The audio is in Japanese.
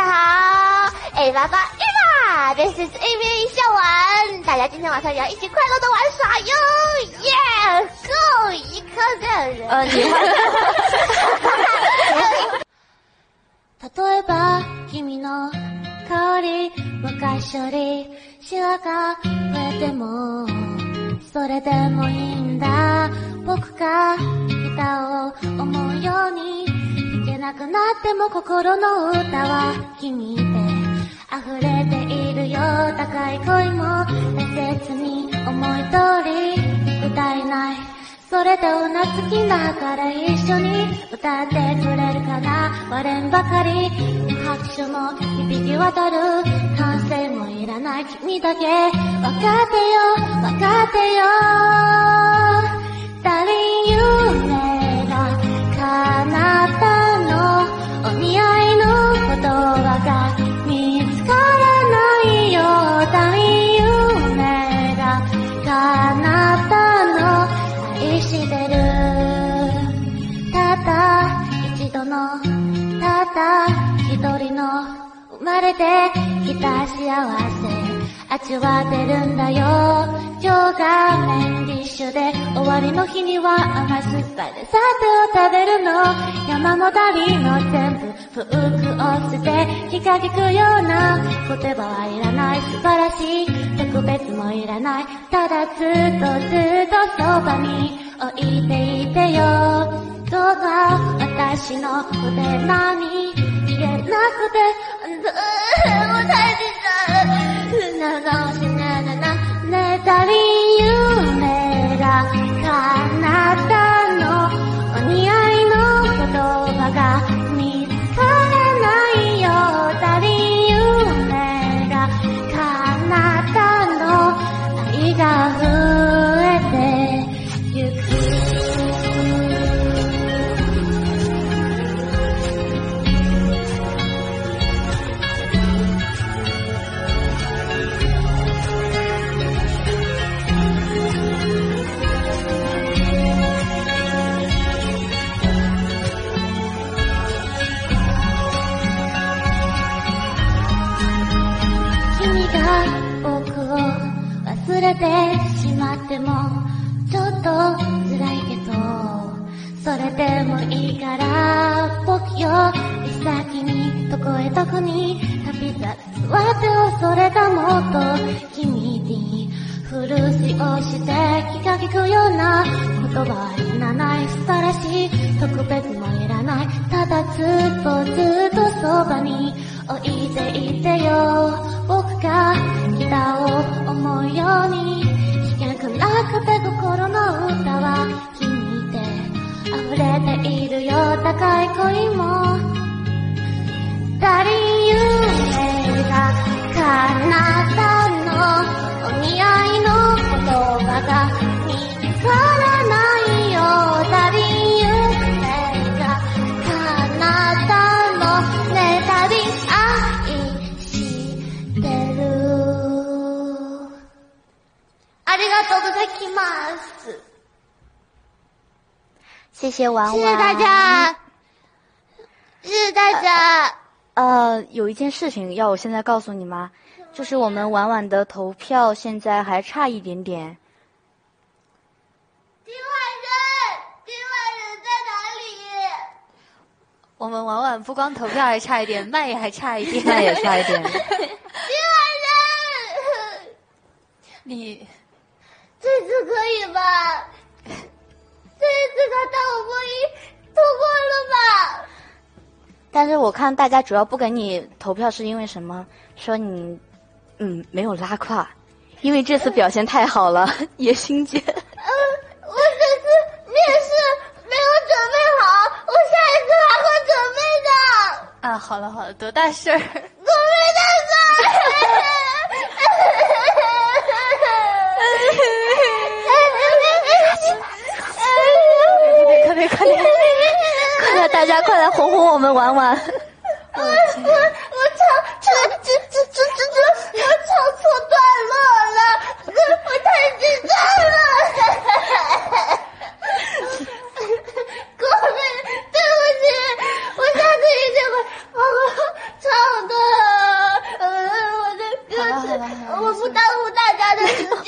家好，Eva，This is Amy 笑玩，大家今天晚上也要一起快乐的玩耍哟，耶！够一颗人。 你会。 例えば君の香り昔よりシワが増えてもそれでもいいんだ僕がギターを思うように弾けなくなっても心の歌は君で溢れているよ高い恋も大切に思い通り歌えないそれでうなずきながら一緒に歌ってくれるかな割れんばかり拍手も響き渡る歓声もいらない君だけ分かってよ誰夢が叶ったのお似合いの言葉が見つからないよ誰夢が叶ったの愛してるただ一度のただ一人の生まれてきた幸せ味わってるんだよ今日がメインディッシュで終わりの日には甘酸っぱいデザートを食べるの山もだりの全部服を捨て気が利くような言葉はいらない素晴らしい特別もいらないただずっとそばに置いていてよどうか私の腕なに言えなくてもう大事だながしなななねたり夢が叶ったのお似合いの言葉が見つからないよたり夢が叶ったの愛が増えてゆく忘れてしまってもちょっと辛いけどそれでもいいから僕より先にどこへどこに旅立つわてをそれがもっと君に古しをして気が利くような言葉はいらない素晴らしい特別もいらないただずっとそばに置いていてよ僕がギターを思うように弾けなくなくて心の歌は君で溢れているよ高い恋も誰夢が叶ったのお似合いの言葉が見つからないよ誰夢が叶ったのねたり愛してるありがとうございます。 谢谢婉婉， 谢谢大家，谢谢大家。 有一件事情要我现在告诉你吗？就是我们婉婉的投票现在还差一点点。 丁外人在哪里？ 我们婉婉不光投票还差一点，麦也还差一点， 麦也差一点。 丁外人， 你这次可以吧？这一次他当我播音通过了吧？ 但是我看大家主要不给你投票是因为什么？说你没有拉胯，因为这次表现太好了，野心姐。 我这次面试没有准备好，我下一次还会准备的。 啊，好了，多大事儿？ 我没大事。 快点，大家快来哄哄我们婉婉。 我唱错段落了，我太紧张了。各位，对不起，我下次一定会好好唱段我不耽误大家的时间。